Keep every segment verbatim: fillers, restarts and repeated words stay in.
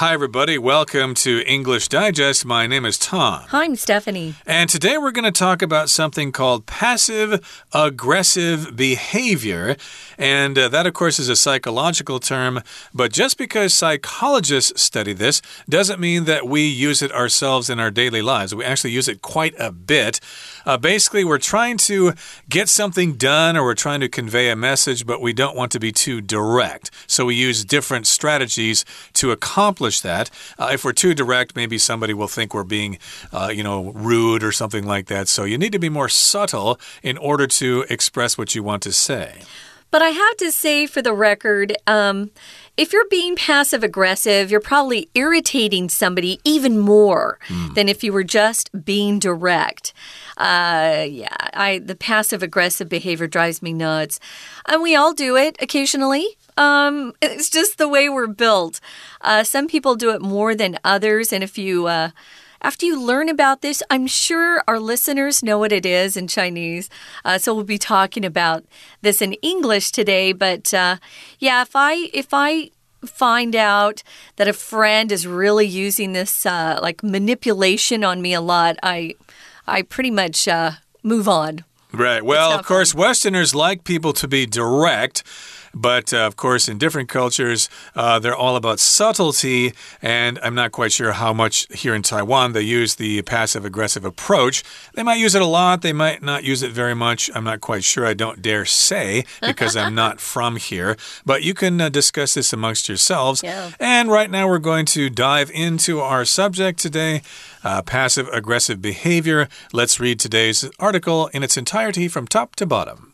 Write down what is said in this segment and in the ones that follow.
Hi, everybody. Welcome to English Digest. My name is Tom. Hi, I'm Stephanie. And today we're going to talk about something called passive-aggressive behavior. And uh, that, of course, is a psychological term. But just because psychologists study this doesn't mean that we use it ourselves in our daily lives. We actually use it quite a bit. Uh, basically, we're trying to get something done or we're trying to convey a message, but we don't want to be too direct. So we use different strategies to accomplish that. Uh, if we're too direct, maybe somebody will think we're being, uh, you know, rude or something like that. So you need to be more subtle in order to express what you want to say. But I have to say, for the record, um, if you're being passive-aggressive, you're probably irritating somebody even more mm. than if you were just being direct. Uh, yeah, I, the passive-aggressive behavior drives me nuts. And we all do it occasionally. Um, it's just the way we're built. Uh, some people do it more than others. And if you... Uh, After you learn about this, I'm sure our listeners know what it is in Chinese. Uh, so we'll be talking about this in English today. But uh, yeah, if I if I find out that a friend is really using this uh, like manipulation on me a lot, I I pretty much uh, move on. Right. Well, of course, fun. Westerners like people to be direct. But, uh, of course, in different cultures, uh, they're all about subtlety, and I'm not quite sure how much here in Taiwan they use the passive-aggressive approach. They might use it a lot. They might not use it very much. I'm not quite sure. I don't dare say because I'm not from here. But you can uh, discuss this amongst yourselves. Yeah. And right now we're going to dive into our subject today, uh, passive-aggressive behavior. Let's read today's article in its entirety from top to bottom.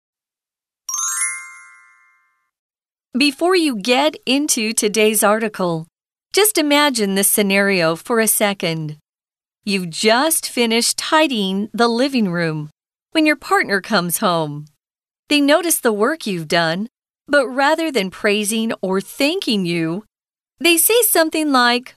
Before you get into today's article, just imagine this scenario for a second. You've just finished tidying the living room when your partner comes home. They notice the work you've done, but rather than praising or thanking you, they say something like,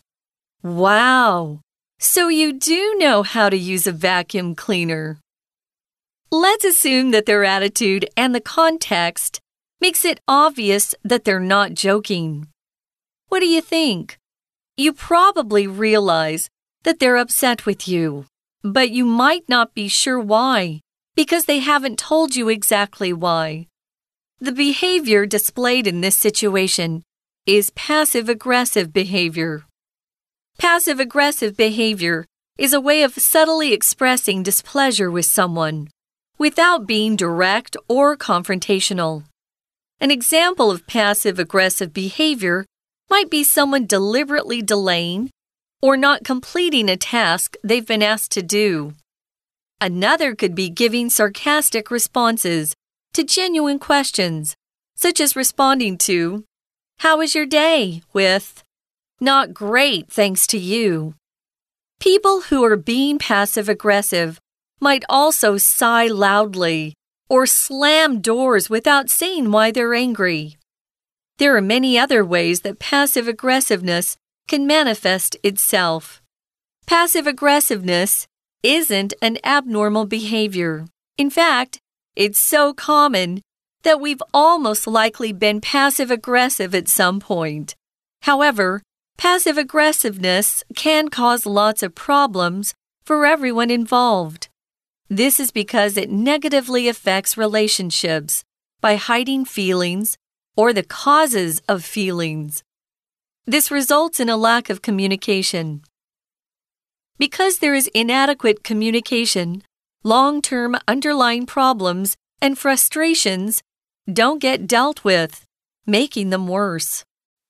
"Wow, so you do know how to use a vacuum cleaner." Let's assume that their attitude and the context makes it obvious that they're not joking. What do you think? You probably realize that they're upset with you, but you might not be sure why, because they haven't told you exactly why. The behavior displayed in this situation is passive-aggressive behavior. Passive-aggressive behavior is a way of subtly expressing displeasure with someone without being direct or confrontational. An example of passive-aggressive behavior might be someone deliberately delaying or not completing a task they've been asked to do. Another could be giving sarcastic responses to genuine questions, such as responding to, "How was your day?" with, "Not great, thanks to you." People who are being passive-aggressive might also sigh loudly or slam doors without saying why they're angry. There are many other ways that passive-aggressiveness can manifest itself. Passive-aggressiveness isn't an abnormal behavior. In fact, it's so common that we've almost likely been passive-aggressive at some point. However, passive-aggressiveness can cause lots of problems for everyone involved. This is because it negatively affects relationships by hiding feelings or the causes of feelings. This results in a lack of communication. Because there is inadequate communication, long-term underlying problems and frustrations don't get dealt with, making them worse.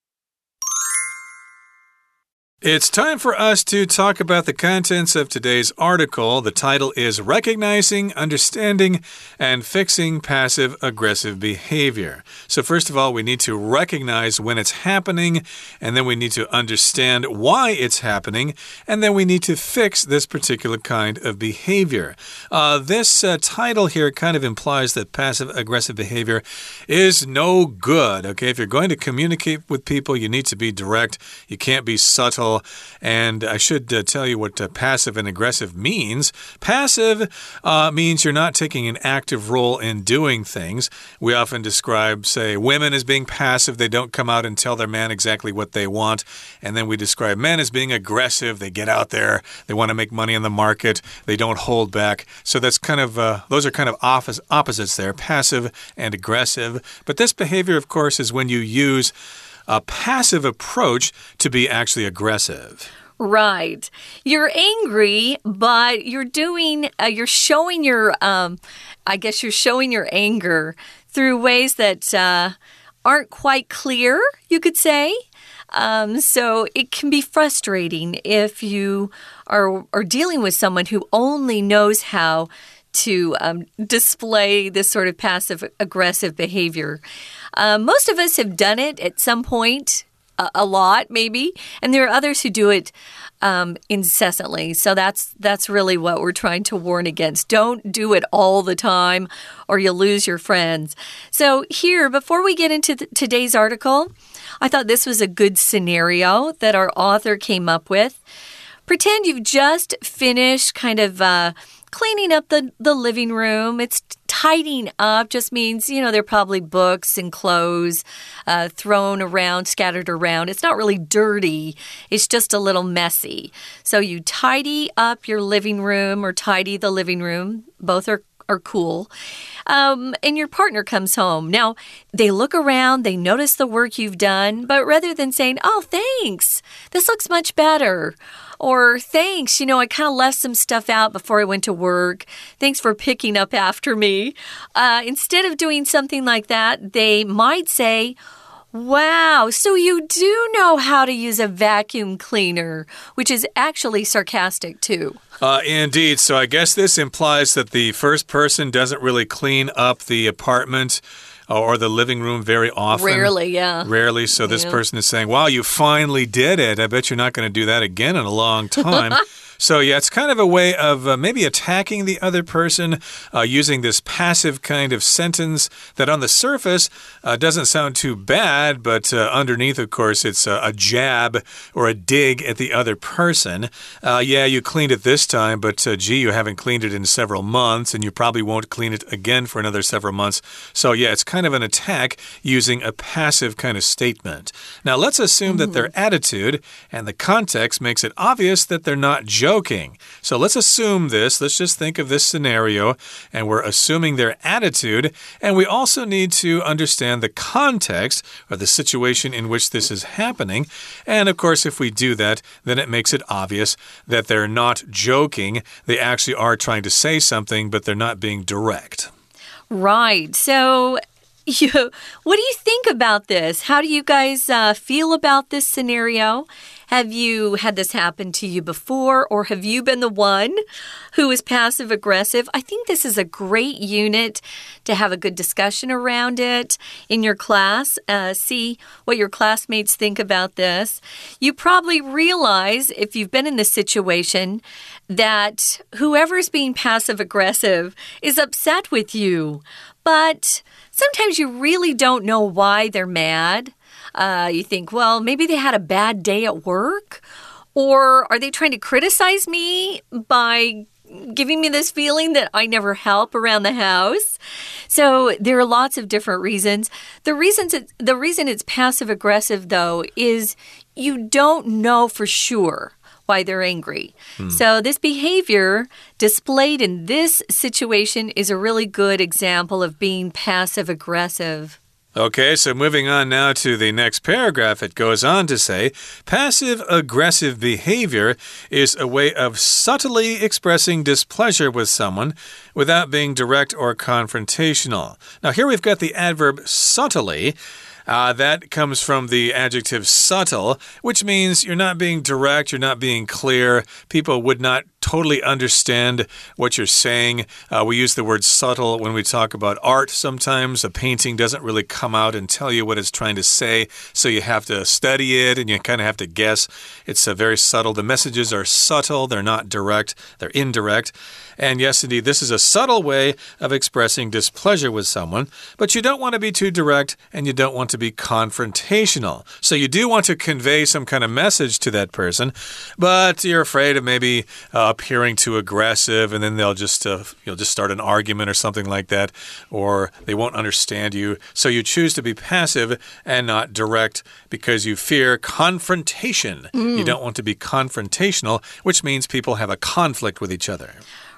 It's time for us to talk about the contents of today's article. The title is Recognizing, Understanding, and Fixing Passive-Aggressive Behavior. So first of all, we need to recognize when it's happening, and then we need to understand why it's happening, and then we need to fix this particular kind of behavior. Uh, this uh, title here kind of implies that passive-aggressive behavior is no good. Okay, if you're going to communicate with people, you need to be direct. You can't be subtle. article. And I should uh, tell you what uh, passive and aggressive means. Passive uh, means you're not taking an active role in doing things. We often describe, say, women as being passive. They don't come out and tell their man exactly what they want. And then we describe men as being aggressive. They get out there. They want to make money in the market. They don't hold back. So that's kind of, uh, those are kind of opposite, opposites there, passive and aggressive. But this behavior, of course, is when you use a passive approach to be actually aggressive. Right. You're angry, but you're doing, uh, you're showing your, um, I guess you're showing your anger through ways that uh, aren't quite clear, you could say. Um, so it can be frustrating if you are, are dealing with someone who only knows how to um, display this sort of passive-aggressive behavior. Uh, most of us have done it at some point, a, a lot maybe, and there are others who do it um, incessantly. So that's that's really what we're trying to warn against. Don't do it all the time or you'll lose your friends. So here, before we get into th- today's article, I thought this was a good scenario that our author came up with. Pretend you've just finished kind of uh, cleaning up the, the living room. It's tidying up just means, you know, there are probably books and clothes uh, thrown around, scattered around. It's not really dirty. It's just a little messy. So you tidy up your living room or tidy the living room. Both are are cool. Um, and your partner comes home. Now, they look around, they notice the work you've done, but rather than saying, oh, thanks, this looks much better. Or thanks, you know, I kind of left some stuff out before I went to work. Thanks for picking up after me. Uh, instead of doing something like that, they might say, wow, so you do know how to use a vacuum cleaner, which is actually sarcastic too. Uh, indeed. So I guess this implies that the first person doesn't really clean up the apartment or the living room very often. Rarely, yeah. Rarely. So this yeah. person is saying, wow, you finally did it. I bet you're not going to do that again in a long time. So, yeah, it's kind of a way of uh, maybe attacking the other person uh, using this passive kind of sentence that on the surface uh, doesn't sound too bad, but uh, underneath, of course, it's a, a jab or a dig at the other person. Uh, yeah, you cleaned it this time, but uh, gee, you haven't cleaned it in several months, and you probably won't clean it again for another several months. So, yeah, it's kind of an attack using a passive kind of statement. Now, let's assume mm-hmm. that their attitude and the context makes it obvious that they're not joking. Joking. So let's assume this. Let's just think of this scenario, and we're assuming their attitude, and we also need to understand the context or the situation in which this is happening. And of course, if we do that, then it makes it obvious that they're not joking. They actually are trying to say something, but they're not being direct. Right. So You, what do you think about this? How do you guys uh, feel about this scenario? Have you had this happen to you before, or have you been the one who is passive-aggressive? I think this is a great unit to have a good discussion around it in your class. Uh, see what your classmates think about this. You probably realize, if you've been in this situation, that whoever's being passive-aggressive is upset with you. But sometimes you really don't know why they're mad. Uh, you think, well, maybe they had a bad day at work, or are they trying to criticize me by giving me this feeling that I never help around the house? So there are lots of different reasons. The reasons it, the reason it's passive-aggressive, though, is you don't know for sure why they're angry. Hmm. So this behavior displayed in this situation is a really good example of being passive-aggressive. Okay, so moving on now to the next paragraph, it goes on to say, passive-aggressive behavior is a way of subtly expressing displeasure with someone without being direct or confrontational. Now, here we've got the adverb subtly. Uh, that comes from the adjective subtle, which means you're not being direct, you're not being clear. People would not totally understand what you're saying. Uh, we use the word subtle when we talk about art sometimes. A painting doesn't really come out and tell you what it's trying to say, so you have to study it and you kind of have to guess. It's uh, very subtle. The messages are subtle. They're not direct. They're indirect. And yes, indeed, this is a subtle way of expressing displeasure with someone, but you don't want to be too direct and you don't want to be confrontational. So you do want to convey some kind of message to that person, but you're afraid of maybe uh, appearing too aggressive, and then they'll just uh, you'll just start an argument or something like that, or they won't understand you. So you choose to be passive and not direct because you fear confrontation. Mm. You don't want to be confrontational, which means people have a conflict with each other.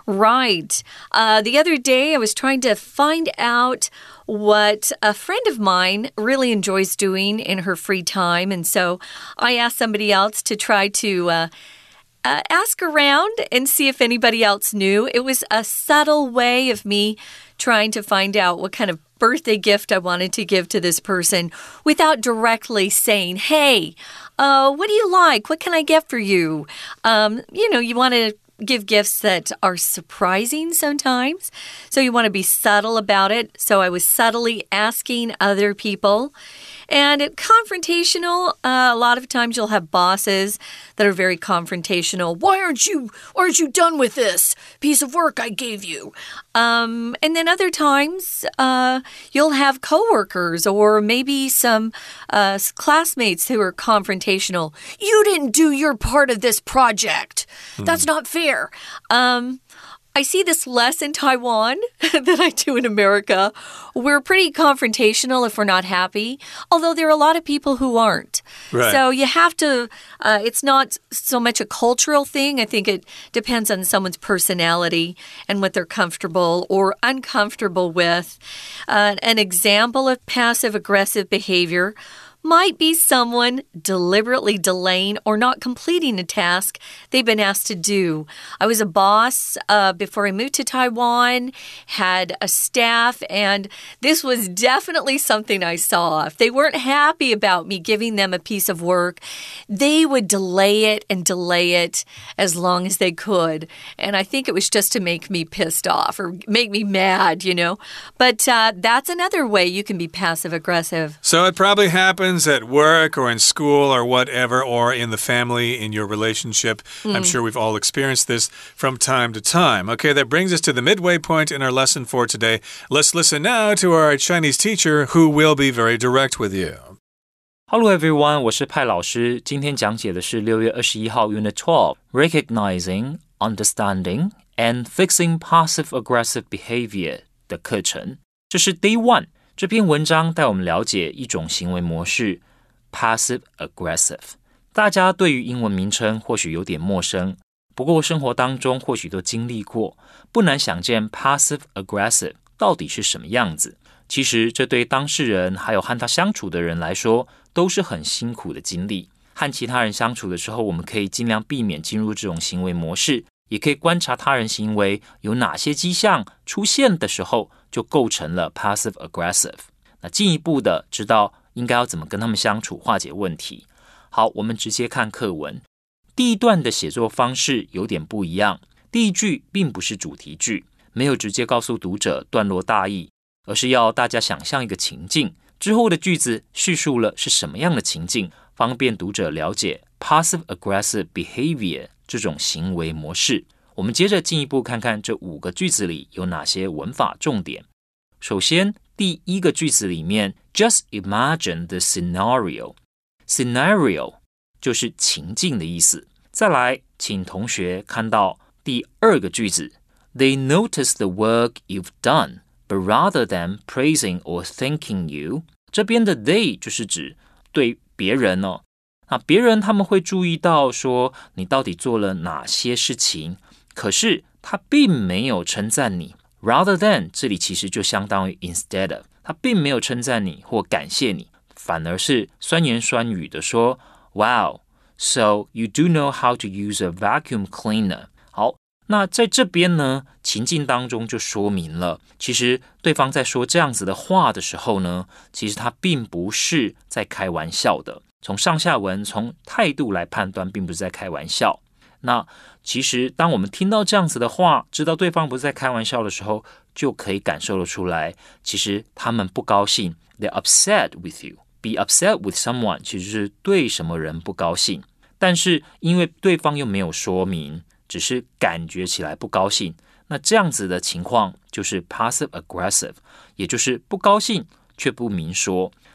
Right. Uh, the other day, I was trying to find out what a friend of mine really enjoys doing in her free time. And so I asked somebody else to try to uh, uh, ask around and see if anybody else knew. It was a subtle way of me trying to find out what kind of birthday gift I wanted to give to this person without directly saying, hey, uh, what do you like? What can I get for you? Um, you know, you want to give gifts that are surprising sometimes. So you want to be subtle about it. So I was subtly asking other people. And it, confrontational, uh, a lot of times you'll have bosses that are very confrontational. Why aren't you, why aren't you done with this piece of work I gave you? Um, and then other times uh, you'll have coworkers or maybe some uh, classmates who are confrontational. You didn't do your part of this project. That's not fair. Um, I see this less in Taiwan than I do in America. We're pretty confrontational if we're not happy, although there are a lot of people who aren't. Right. So you have to, uh, it's not so much a cultural thing. I think it depends on someone's personality and what they're comfortable or uncomfortable with. Uh, an example of passive-aggressive behavior might be someone deliberately delaying or not completing a task they've been asked to do. I was a boss uh, before I moved to Taiwan, had a staff, and this was definitely something I saw. If they weren't happy about me giving them a piece of work, they would delay it and delay it as long as they could. And I think it was just to make me pissed off or make me mad, you know. But uh, that's another way you can be passive-aggressive. So it probably happens at work or in school or whatever, or in the family, in your relationship. Mm. I'm sure we've all experienced this from time to time. Okay, that brings us to the midway point in our lesson for today. Let's listen now to our Chinese teacher who will be very direct with you. Hello everyone, 我是派老師。今天講解的是六月二十一號 Unit twelve, Recognizing, Understanding, and Fixing Passive-Aggressive Behavior 的課程。這是 Day one。這篇文章帶我們了解一種行為模式 Passive-Aggressive。大家對於英文名稱或許有點陌生，不過生活當中或許都經歷過，不難想見 Passive-Aggressive 到底是什麼樣子。其實這對當事人還有和他相處的人來說都是很辛苦的經歷。和其他人相處的時候，我們可以盡量避免進入這種行為模式，也可以觀察他人行為有哪些跡象出現的時候就構成了 passive-aggressive。 那進一步的知道應該要怎麼跟他們相處，化解問題。好，我們直接看課文。第一段的寫作方式有點不一樣，第一句並不是主題句，沒有直接告訴讀者段落大意，而是要大家想象一個情境，之後的句子敘述了是什麼樣的情境，方便讀者了解 passive-aggressive behavior 這種行為模式。我們接着進一步看看這五個句子裡有哪些文法重點。首先，第一個句子裡面 Just imagine the scenario. Scenario 就是情境的意思。再來，請同學看到第二個句子 They notice the work you've done, but rather than praising or thanking you. 這邊的 they 就是指對別人哦。那別人他們會注意到說你到底做了哪些事情，可是他並沒有稱讚你。Rather than 這裡其實就相當於 instead of， 他並沒有稱讚你或感謝你，反而是酸言酸語的說 Wow, so you do know how to use a vacuum cleaner. 好，那在這邊呢，情境當中就說明了，其實對方在說這樣子的話的時候呢，其實他並不是在開玩笑的。從上下文，從態度來判斷，並不是在開玩笑。那其實當我們聽到這樣子的話，知道對方不是在開玩笑的時候，就可以感受得出來，其實他們不高興。They're upset with you. Be upset with someone 其實是對什麼人不高興，但是因為對方又沒有說明，只是感覺起來不高興，那這樣子的情況就是 passive aggressive， 也就是不高興卻不明說。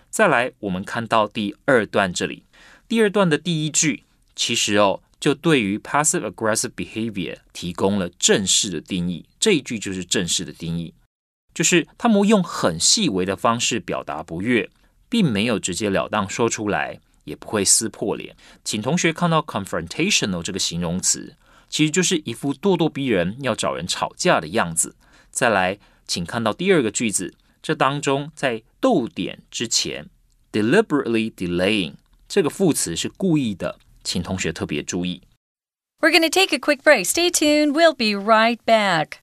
再來，我們看到第二段這裡，第二段的第一句，其實哦，就對於 passive-aggressive behavior 提供了正式的定義。這一句就是正式的定義，就是他們用很細微的方式表達不悅，並沒有直截了當說出來，也不會撕破臉。請同學看到 confrontational 這個形容詞，其實就是一副咄咄逼人，要找人吵架的樣子。再來，請看到第二個句子，這當中在逗點之前 deliberately delaying 這個副詞是故意的，請同學特別注意。 We're going to take a quick break. Stay tuned. We'll be right back.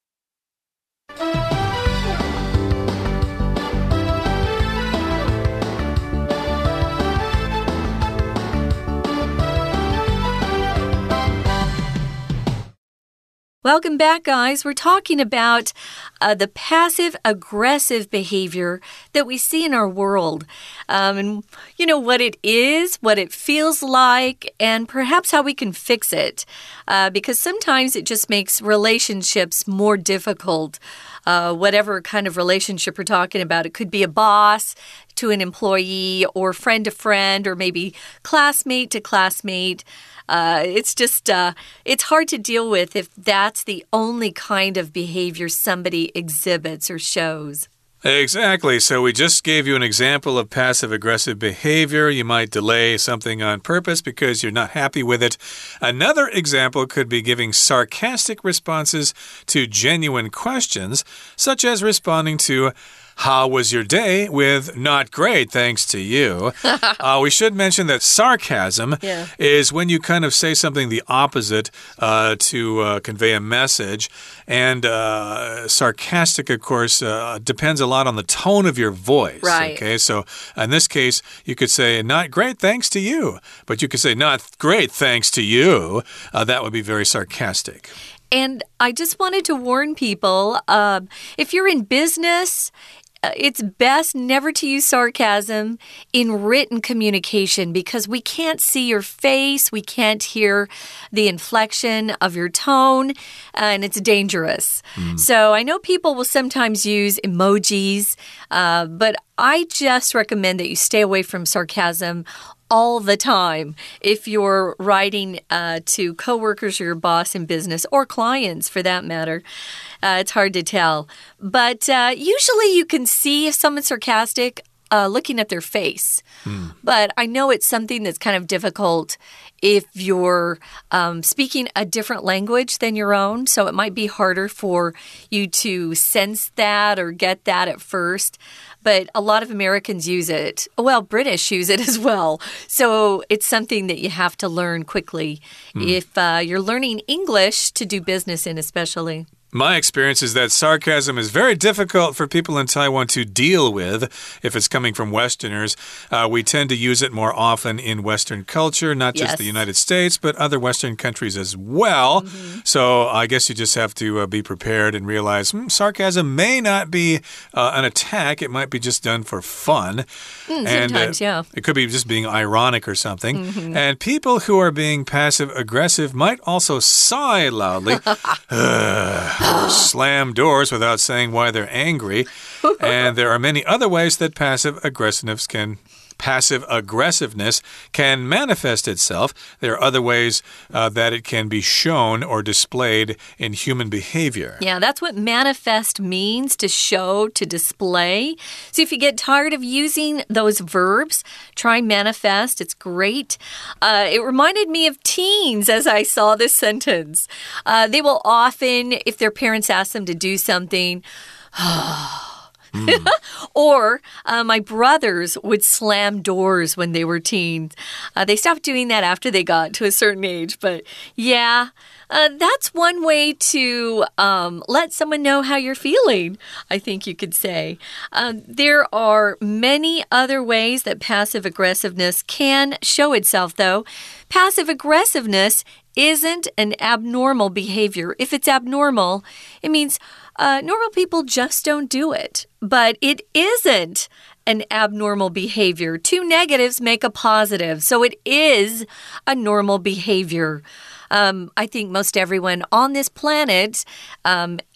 Welcome back, guys. We're talking about uh, the passive-aggressive behavior that we see in our world. Um, and, you know, what it is, what it feels like, and perhaps how we can fix it. Uh, because sometimes it just makes relationships more difficult. Uh, whatever kind of relationship we're talking about. It could be a boss to an employee, or friend to friend, or maybe classmate to classmate. Uh, it's just, uh, it's hard to deal with if that's the only kind of behavior somebody exhibits or shows. Exactly. So we just gave you an example of passive-aggressive behavior. You might delay something on purpose because you're not happy with it. Another example could be giving sarcastic responses to genuine questions, such as responding to "How was your day?" with "Not great, thanks to you." uh, we should mention that sarcasm yeah. is when you kind of say something the opposite uh, to uh, convey a message. And uh, sarcastic, of course, uh, depends a lot on the tone of your voice. Right. Okay, so in this case, you could say "Not great, thanks to you." But you could say "Not great, thanks to you." Uh, that would be very sarcastic. And I just wanted to warn people, uh, if you're in business, it's best never to use sarcasm in written communication because we can't see your face, we can't hear the inflection of your tone, and it's dangerous. Mm. So I know people will sometimes use emojis, uh, but I just recommend that you stay away from sarcasm all the time if you're writing uh, to coworkers or your boss in business or clients for that matter. Uh, it's hard to tell. But uh, usually you can see if someone's sarcastic uh, looking at their face. Mm. But I know it's something that's kind of difficult if you're um, speaking a different language than your own. So it might be harder for you to sense that or get that at first. But a lot of Americans use it. Well, British use it as well. So it's something that you have to learn quickly mm. if uh, you're learning English to do business in especially. My experience is that sarcasm is very difficult for people in Taiwan to deal with if it's coming from Westerners. Uh, we tend to use it more often in Western culture, not just yes. the United States, but other Western countries as well. Mm-hmm. So I guess you just have to uh, be prepared and realize hmm, sarcasm may not be uh, an attack. It might be just done for fun. Mm, and, sometimes, uh, yeah. It could be just being ironic or something. Mm-hmm. And people who are being passive-aggressive might also sigh loudly. Or slam doors without saying why they're angry. And there are many other ways that passive aggressiveness can passive aggressiveness can manifest itself. There are other ways uh, that it can be shown or displayed in human behavior. Yeah, that's what manifest means, to show, to display. So if you get tired of using those verbs, try manifest. It's great. Uh, it reminded me of teens as I saw this sentence. Uh, they will often, if their parents ask them to do something, Mm. Or uh, my brothers would slam doors when they were teens. Uh, they stopped doing that after they got to a certain age. But yeah, uh, that's one way to um, let someone know how you're feeling, I think you could say. Uh, there are many other ways that passive aggressiveness can show itself, though. Passive aggressiveness isn't an abnormal behavior. If it's abnormal, it means Uh, normal people just don't do it. But it isn't an abnormal behavior. Two negatives make a positive. So it is a normal behavior. Um, I think most everyone on this planet um,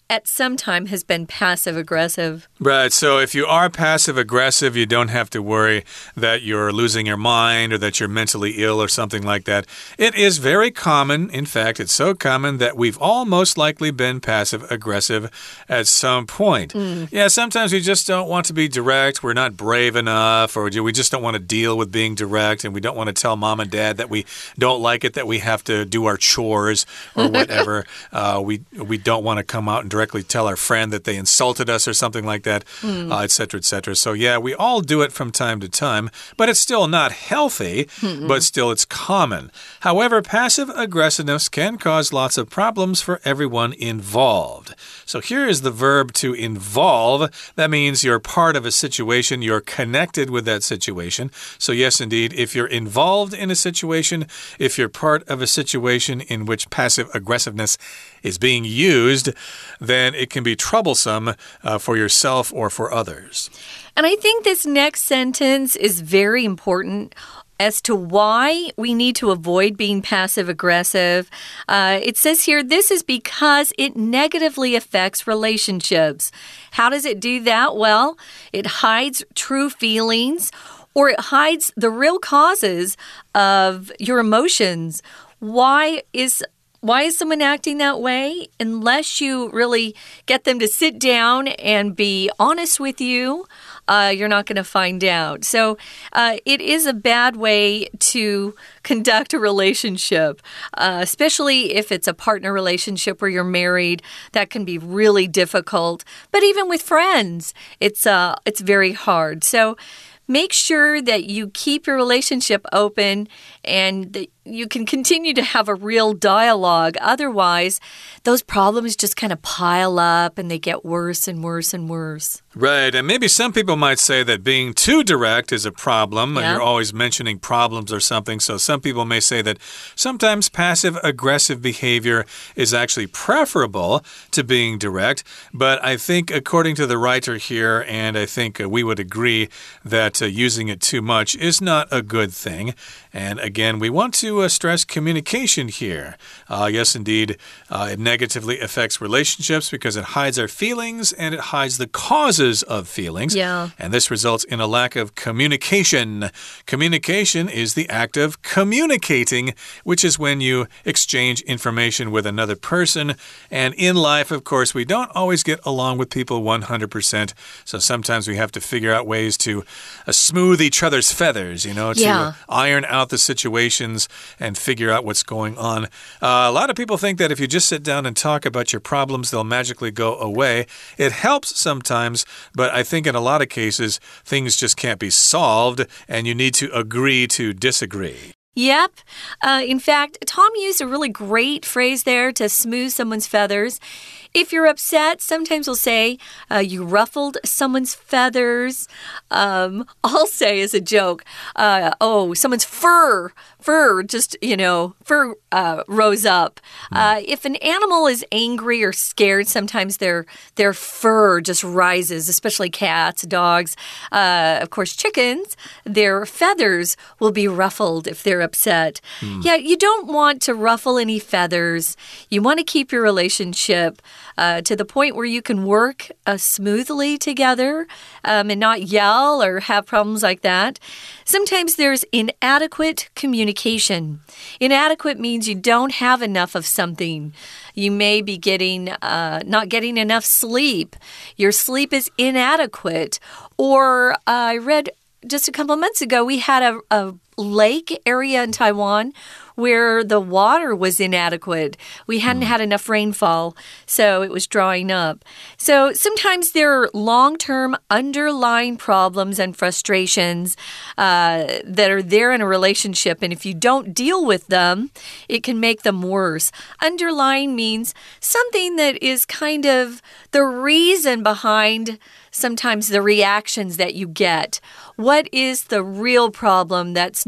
at some time has been passive-aggressive. Right, so if you are passive-aggressive, you don't have to worry that you're losing your mind or that you're mentally ill or something like that. It is very common. In fact, it's so common that we've all most likely been passive-aggressive at some point. Mm. Yeah, sometimes we just don't want to be direct. We're not brave enough, or we just don't want to deal with being direct, and we don't want to tell mom and dad that we don't like it, that we have to do our chores or whatever. uh, we, we don't want to come out and directly tell our friend that they insulted us or something like that, mm. uh, et cetera, et cetera. So, yeah, we all do it from time to time, but it's still not healthy, mm-mm. but still it's common. However, passive aggressiveness can cause lots of problems for everyone involved. So here is the verb to involve. That means you're part of a situation, you're connected with that situation. So yes, indeed, if you're involved in a situation, if you're part of a situation in which passive aggressiveness is being used, then it can be troublesome uh, for yourself or for others. And I think this next sentence is very important as to why we need to avoid being passive-aggressive. Uh, it says here, this is because it negatively affects relationships. How does it do that? Well, it hides true feelings, or it hides the real causes of your emotions. Why is Why is someone acting that way? Unless you really get them to sit down and be honest with you, uh, you're not going to find out. So uh, it is a bad way to conduct a relationship, uh, especially if it's a partner relationship where you're married. That can be really difficult. But even with friends, it's uh, it's very hard. So make sure that you keep your relationship open and that you can continue to have a real dialogue. Otherwise, those problems just kind of pile up and they get worse and worse and worse. Right, and maybe some people might say that being too direct is a problem. Yeah. You're always mentioning problems or something. So some people may say that sometimes passive-aggressive behavior is actually preferable to being direct. But I think according to the writer here, and I think uh, we would agree that uh, using it too much is not a good thing. And again, we want to uh, stress communication here. Uh, yes, indeed, uh, it negatively affects relationships because it hides our feelings and it hides the causes of feelings. Yeah. And this results in a lack of communication. Communication is the act of communicating, which is when you exchange information with another person. And in life, of course, we don't always get along with people one hundred percent. So sometimes we have to figure out ways to uh, smooth each other's feathers, you know, to yeah. iron out the situations and figure out what's going on. Uh, a lot of people think that if you just sit down and talk about your problems, they'll magically go away. It helps sometimes, but I think in a lot of cases, things just can't be solved, and you need to agree to disagree. Yep. Uh, in fact, Tom used a really great phrase there to smooth someone's feathers. If you're upset, sometimes we'll say, uh, you ruffled someone's feathers. Um, I'll say as a joke, uh, oh, someone's fur, fur just, you know, fur uh, rose up. Uh, if an animal is angry or scared, sometimes their, their fur just rises, especially cats, dogs. Uh, of course, chickens, their feathers will be ruffled if they're upset. Mm. Yeah, you don't want to ruffle any feathers. You want to keep your relationship Uh, to the point where you can work uh, smoothly together um, and not yell or have problems like that. Sometimes there's inadequate communication. Inadequate means you don't have enough of something. You may be getting uh, not getting enough sleep. Your sleep is inadequate. Or uh, I read just a couple of months ago, we had a, a lake area in Taiwan where the water was inadequate. We hadn't had enough rainfall, so it was drying up. So sometimes there are long-term underlying problems and frustrations uh, that are there in a relationship, and if you don't deal with them, it can make them worse. Underlying means something that is kind of the reason behind sometimes the reactions that you get. What is the real problem that's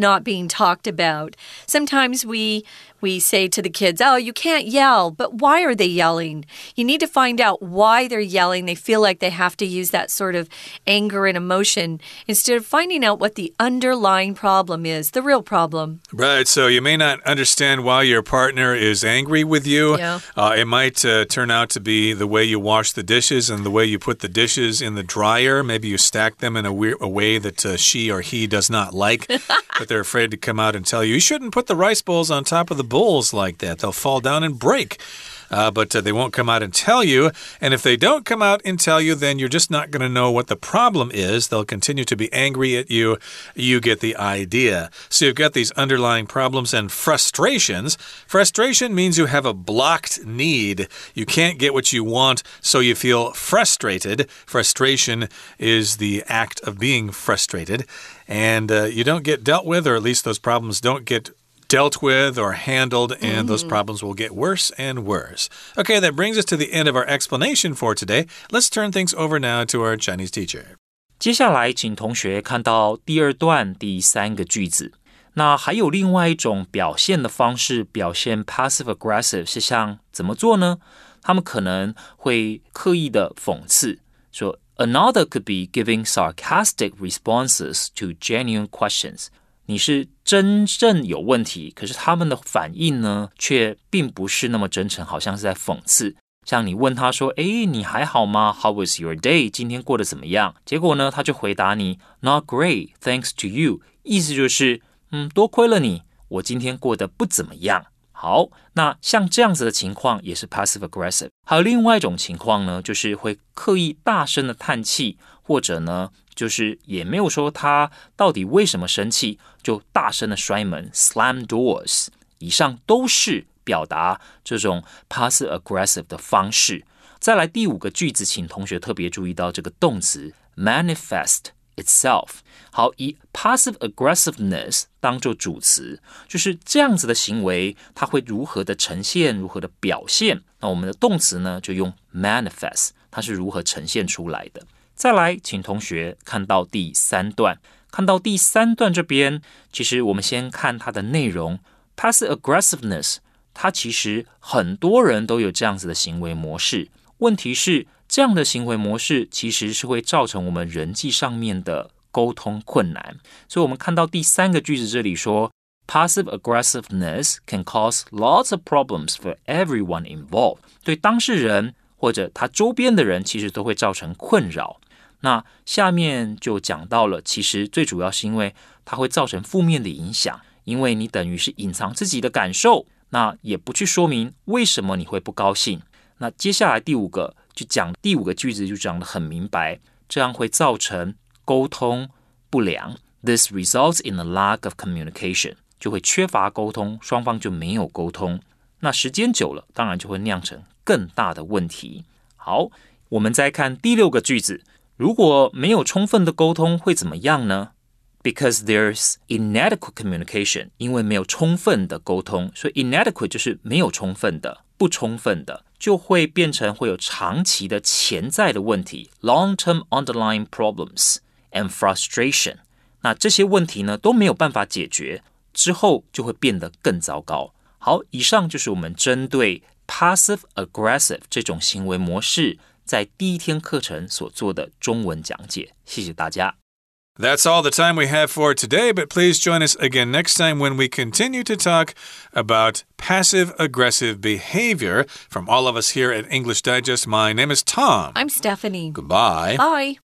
not being talked about. Sometimes we we say to the kids, oh, you can't yell, but why are they yelling? You need to find out why they're yelling. They feel like they have to use that sort of anger and emotion instead of finding out what the underlying problem is, the real problem. Right, so you may not understand why your partner is angry with you. Yeah. Uh, it might uh, turn out to be the way you wash the dishes and the way you put the dishes in the dryer. Maybe you stack them in a, weird, a way that uh, she or he does not like, but they're afraid to come out and tell you, you shouldn't put the rice bowls on top of the bowls like that. They'll fall down and break. Uh, but uh, they won't come out and tell you. And if they don't come out and tell you, then you're just not going to know what the problem is. They'll continue to be angry at you. You get the idea. So you've got these underlying problems and frustrations. Frustration means you have a blocked need. You can't get what you want, so you feel frustrated. Frustration is the act of being frustrated. And uh, you don't get dealt with, or at least those problems don't get dealt with or handled, and mm-hmm. those problems will get worse and worse. Okay, that brings us to the end of our explanation for today. Let's turn things over now to our Chinese teacher. 接下来请同學看到第二段第三個句子。那還有另外一種表現的方式，表現 passive aggressive 是像怎麼做呢？他們可能會刻意的諷刺，說 Another could be giving sarcastic responses to genuine questions.你是真正有問題，可是他們的反應呢，卻並不是那麼真誠，好像是在諷刺。像你問他說，誒，你還好嗎？ How was your day? 今天過得怎麼樣？結果呢，他就回答你 Not great, thanks to you. 意思就是，嗯，多虧了你，我今天過得不怎麼樣。好，那像這樣子的情況也是 passive aggressive。還有另外一種情況呢，就是會刻意大聲的嘆氣，或者呢，就是也沒有說他到底為什麼生氣，就大聲的摔門 slam doors。以上都是表達這種 passive aggressive 的方式。再來第五個句子，請同學特別注意到這個動詞 manifest itself。好，以 passive aggressiveness 當作主詞，就是這樣子的行為，它會如何的呈現，如何的表現。那我們的動詞呢，就用 manifest， 它是如何呈現出來的。再來，請同學看到第三段，看到第三段這邊，其實我們先看它的內容。Passive aggressiveness， 它其實很多人都有這樣子的行為模式。問題是，這樣的行為模式其實是會造成我們人際上面的溝通困難。所以我們看到第三個句子這裡說 Passive aggressiveness can cause lots of problems for everyone involved。 對當事人或者他周邊的人其實都會造成困擾。那下面就講到了，其實最主要是因為它會造成負面的影響，因為你等於是隱藏自己的感受，那也不去說明為什麼你會不高興。那接下來第五個就講第五個句子就講得很明白，這樣會造成溝通不良。This results in a lack of communication， 就會缺乏溝通，雙方就沒有溝通。那時間久了，當然就會釀成更大的問題。好，我們再看第六個句子，如果沒有充分的溝通會怎麼樣呢？ Because there's inadequate communication， 因為沒有充分的溝通，所以 inadequate 就是沒有充分的、不充分的，就會變成會有長期的潛在的問題 long-term underlying problems and frustration。 那這些問題呢都沒有辦法解決，之後就會變得更糟糕。好，以上就是我們針對 passive aggressive 這種行為模式在第一天課程所做的中文講解。謝謝大家。 That's all the time we have for today, but please join us again next time when we continue to talk about passive-aggressive behavior. From all of us here at English Digest, my name is Tom. I'm Stephanie. Goodbye. Bye.